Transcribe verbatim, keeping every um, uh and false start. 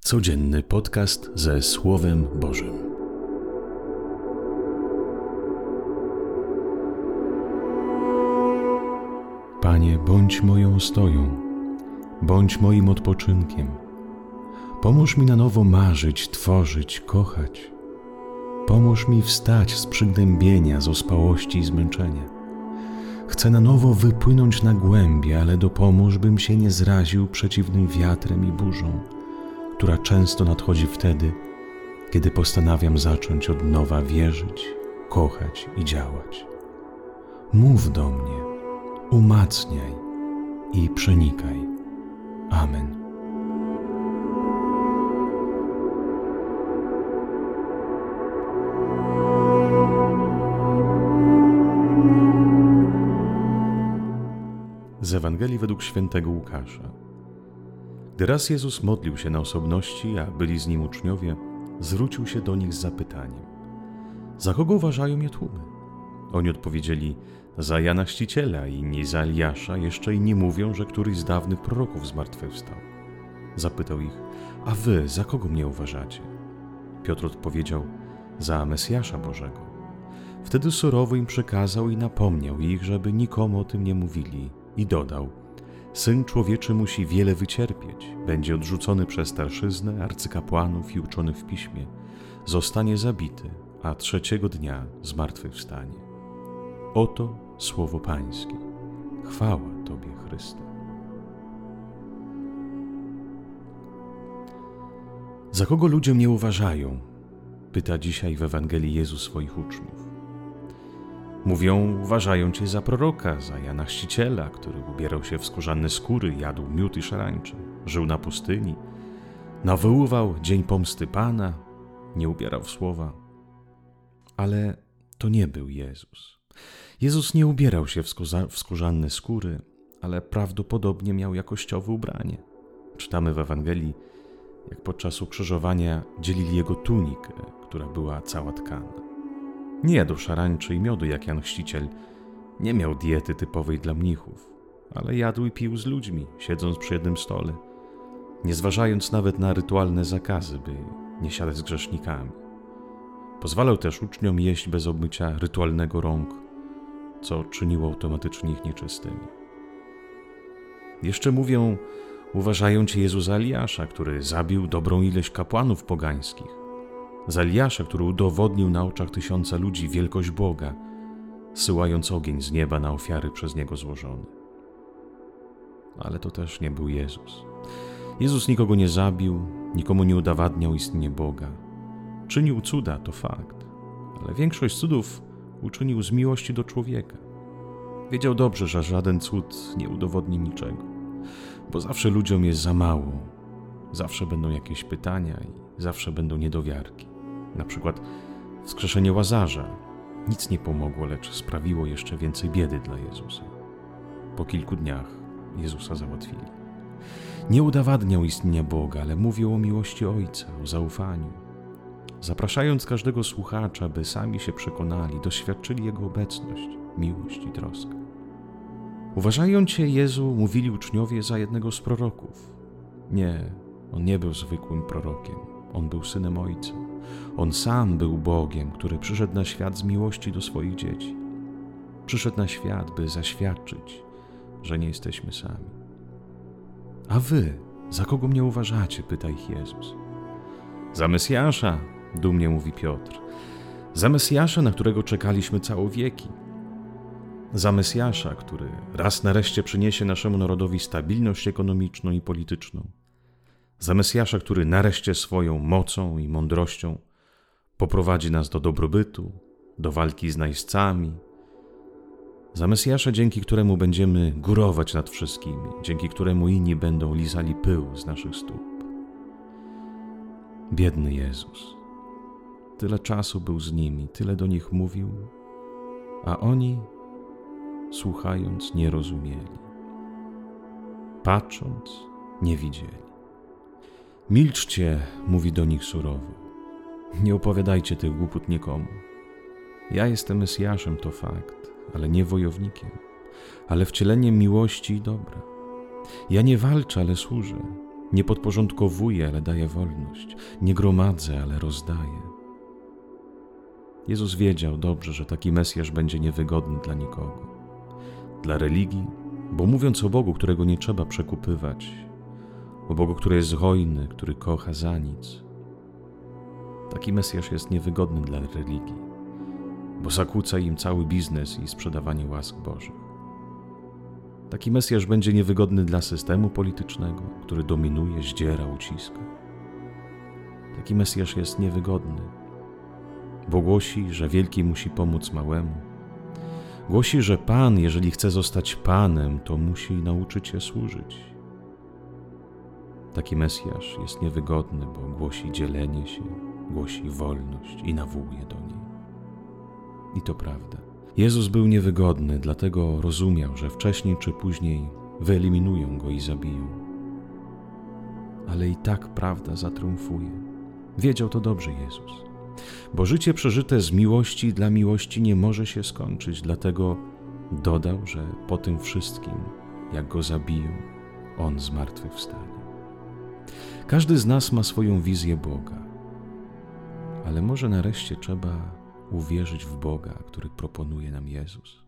Codzienny podcast ze Słowem Bożym. Panie, bądź moją ostoją, bądź moim odpoczynkiem. Pomóż mi na nowo marzyć, tworzyć, kochać. Pomóż mi wstać z przygnębienia, z ospałości i zmęczenia. Chcę na nowo wypłynąć na głębie, ale dopomóż, bym się nie zraził przeciwnym wiatrem i burzą, która często nadchodzi wtedy, kiedy postanawiam zacząć od nowa wierzyć, kochać i działać. Mów do mnie, umacniaj i przenikaj. Amen. Z Ewangelii według świętego Łukasza. Gdy raz Jezus modlił się na osobności, a byli z Nim uczniowie, zwrócił się do nich z zapytaniem: za kogo uważają mnie tłumy? Oni odpowiedzieli: za Jana Chrzciciela, inni za Eliasza, jeszcze inni mówią, że któryś z dawnych proroków zmartwychwstał. Zapytał ich: a wy za kogo mnie uważacie? Piotr odpowiedział: za Mesjasza Bożego. Wtedy surowo im przekazał i napomniał ich, żeby nikomu o tym nie mówili, i dodał: Syn Człowieczy musi wiele wycierpieć, będzie odrzucony przez starszyznę, arcykapłanów i uczony w piśmie, zostanie zabity, a trzeciego dnia zmartwychwstanie. Oto słowo Pańskie. Chwała Tobie, Chryste. Za kogo ludzie mnie uważają? Pyta dzisiaj w Ewangelii Jezus swoich uczniów. Mówią, uważają Cię za proroka, za Jana Chrzciciela, który ubierał się w skórzane skóry, jadł miód i szarańcze, żył na pustyni, nawoływał dzień pomsty Pana, nie ubierał w słowa. Ale to nie był Jezus. Jezus nie ubierał się w, skórza, w skórzane skóry, ale prawdopodobnie miał jakościowe ubranie. Czytamy w Ewangelii, jak podczas ukrzyżowania dzielili Jego tunikę, która była cała tkana. Nie jadł szarańczy i miodu jak Jan Chrzciciel, nie miał diety typowej dla mnichów, ale jadł i pił z ludźmi, siedząc przy jednym stole, nie zważając nawet na rytualne zakazy, by nie siadać z grzesznikami. Pozwalał też uczniom jeść bez obmycia rytualnego rąk, co czyniło automatycznie ich nieczystymi. Jeszcze mówią, uważają Cię Jezu za Eliasza, który zabił dobrą ilość kapłanów pogańskich, za Eliasza, który udowodnił na oczach tysiąca ludzi wielkość Boga, zsyłając ogień z nieba na ofiary przez Niego złożone. Ale to też nie był Jezus. Jezus nikogo nie zabił, nikomu nie udowadniał istnienie Boga. Czynił cuda, to fakt, ale większość cudów uczynił z miłości do człowieka. Wiedział dobrze, że żaden cud nie udowodni niczego, bo zawsze ludziom jest za mało, zawsze będą jakieś pytania i zawsze będą niedowiarki. Na przykład wskrzeszenie Łazarza nic nie pomogło, lecz sprawiło jeszcze więcej biedy dla Jezusa. Po kilku dniach Jezusa załatwili. Nie udowadniał istnienia Boga, ale mówił o miłości Ojca, o zaufaniu, zapraszając każdego słuchacza, by sami się przekonali, doświadczyli Jego obecność, miłość i troskę. Uważając Cię, Jezu, mówili uczniowie, za jednego z proroków. Nie, On nie był zwykłym prorokiem. On był Synem Ojca. On sam był Bogiem, który przyszedł na świat z miłości do swoich dzieci. Przyszedł na świat, by zaświadczyć, że nie jesteśmy sami. A wy, za kogo mnie uważacie? Pyta ich Jezus. Za Mesjasza, dumnie mówi Piotr. Za Mesjasza, na którego czekaliśmy całe wieki. Za Mesjasza, który raz nareszcie przyniesie naszemu narodowi stabilność ekonomiczną i polityczną. Za Mesjasza, który nareszcie swoją mocą i mądrością poprowadzi nas do dobrobytu, do walki z najeźdźcami. Za Mesjasza, dzięki któremu będziemy górować nad wszystkimi, dzięki któremu inni będą lizali pył z naszych stóp. Biedny Jezus. Tyle czasu był z nimi, tyle do nich mówił, a oni, słuchając, nie rozumieli. Patrząc, nie widzieli. Milczcie, mówi do nich surowo. Nie opowiadajcie tych głupot nikomu. Ja jestem Mesjaszem, to fakt, ale nie wojownikiem, ale wcieleniem miłości i dobra. Ja nie walczę, ale służę. Nie podporządkowuję, ale daję wolność. Nie gromadzę, ale rozdaję. Jezus wiedział dobrze, że taki Mesjasz będzie niewygodny dla nikogo. Dla religii, bo mówiąc o Bogu, którego nie trzeba przekupywać, o Bogu, który jest hojny, który kocha za nic, taki Mesjasz jest niewygodny dla religii, bo zakłóca im cały biznes i sprzedawanie łask Bożych. Taki Mesjasz będzie niewygodny dla systemu politycznego, który dominuje, zdziera, uciska. Taki Mesjasz jest niewygodny, bo głosi, że wielki musi pomóc małemu. Głosi, że Pan, jeżeli chce zostać Panem, to musi nauczyć się służyć. Taki Mesjasz jest niewygodny, bo głosi dzielenie się, głosi wolność i nawołuje do niej. I to prawda. Jezus był niewygodny, dlatego rozumiał, że wcześniej czy później wyeliminują Go i zabiją. Ale i tak prawda zatriumfuje. Wiedział to dobrze Jezus. Bo życie przeżyte z miłości dla miłości nie może się skończyć, dlatego dodał, że po tym wszystkim, jak Go zabiją, On zmartwychwstanie. Każdy z nas ma swoją wizję Boga, ale może nareszcie trzeba uwierzyć w Boga, który proponuje nam Jezus.